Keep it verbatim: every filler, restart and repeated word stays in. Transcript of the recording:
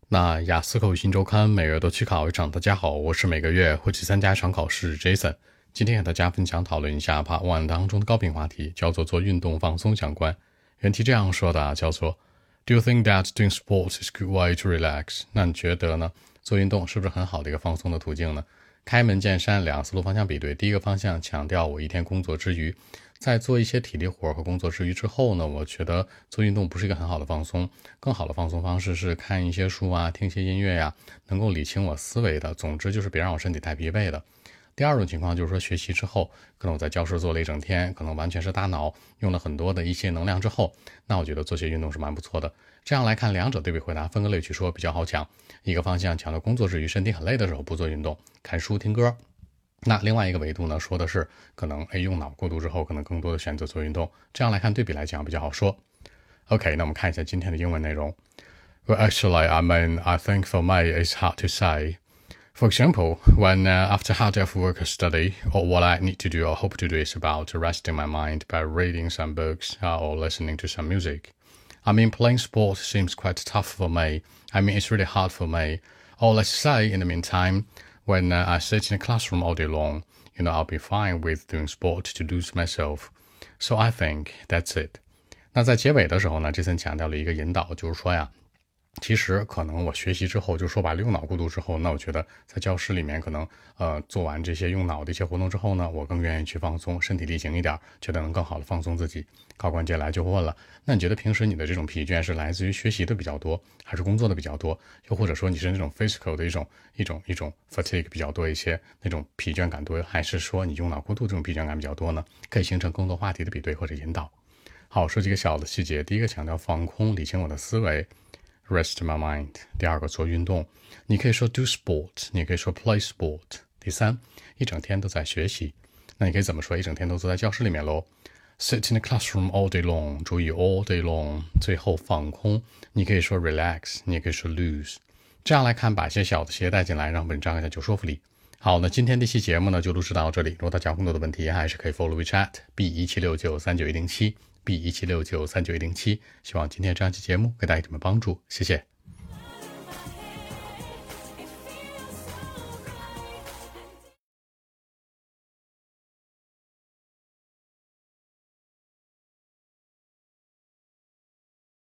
那雅思口语新周刊每月都去考一场。大家好，我是每个月会去参加一场考试 Jason。今天和大家分享讨论一下 Part One 当中的高频话题，叫做做运动放松相关。原题这样说的，叫做 Do you think that doing sports is a good way to relax？ 那你觉得呢？做运动是不是很好的一个放松的途径呢？开门见山，两个思路方向比对。第一个方向强调我一天工作之余，在做一些体力活和工作之余之后呢，我觉得做运动不是一个很好的放松，更好的放松方式是看一些书啊，听一些音乐呀，能够理清我思维的，总之就是别让我身体太疲惫的。第二种情况就是说，学习之后，可能我在教室坐了一整天，可能完全是大脑用了很多的一些能量之后，那我觉得做些运动是蛮不错的。这样来看，两者对比回答，分个类去说比较好讲。一个方向强调工作之余身体很累的时候不做运动，看书听歌。那另外一个维度呢，说的是可能哎用脑过度之后，可能更多的选择做运动。这样来看，对比来讲比较好说。OK， 那我们看一下今天的英文内容。Well, actually, I mean, I think for me it's hard to say. For example, when uh, after hard day of work or study, or what I need to do or hope to do is about resting my mind by reading some books uh, or listening to some music. I mean, playing sport seems quite tough for me. I mean, it's really hard for me. Or let's say, in the meantime, when uh, I sit in a classroom all day long, you know, I'll be fine with doing sport to lose myself. So I think that's it. 那在结尾的时候呢，这森强调了一个引导，就是说呀，其实可能我学习之后，就说白了用脑过度之后，那我觉得在教室里面可能呃做完这些用脑的一些活动之后呢，我更愿意去放松，身体力行一点，觉得能更好的放松自己。考官接下来就会问了，那你觉得平时你的这种疲倦是来自于学习的比较多，还是工作的比较多？又或者说你是那种 physical 的一种一种一种 fatigue 比较多一些，那种疲倦感多，还是说你用脑过度这种疲倦感比较多呢？可以形成更多话题的比对或者引导。好，说几个小的细节。第一个强调放空，理清我的思维。Rest my mind。 第二个做运动，你可以说 do sport， 你可以说 play sport。 第三，一整天都在学习，那你可以怎么说？一整天都坐在教室里面咯。 Sit in the classroom all day long， 注意 all day long。 最后放空，你可以说 relax， 你也可以说 lose。 这样来看，把一些小的细节带进来，让文章更加有说服力。好，那今天这期节目呢就录制到这里。如果大家有更多的问题，还是可以 follow WeChat B 一七六九三九一零七 B 一七六九三九一零七。希望今天这样期节目给大家什么帮助，谢谢。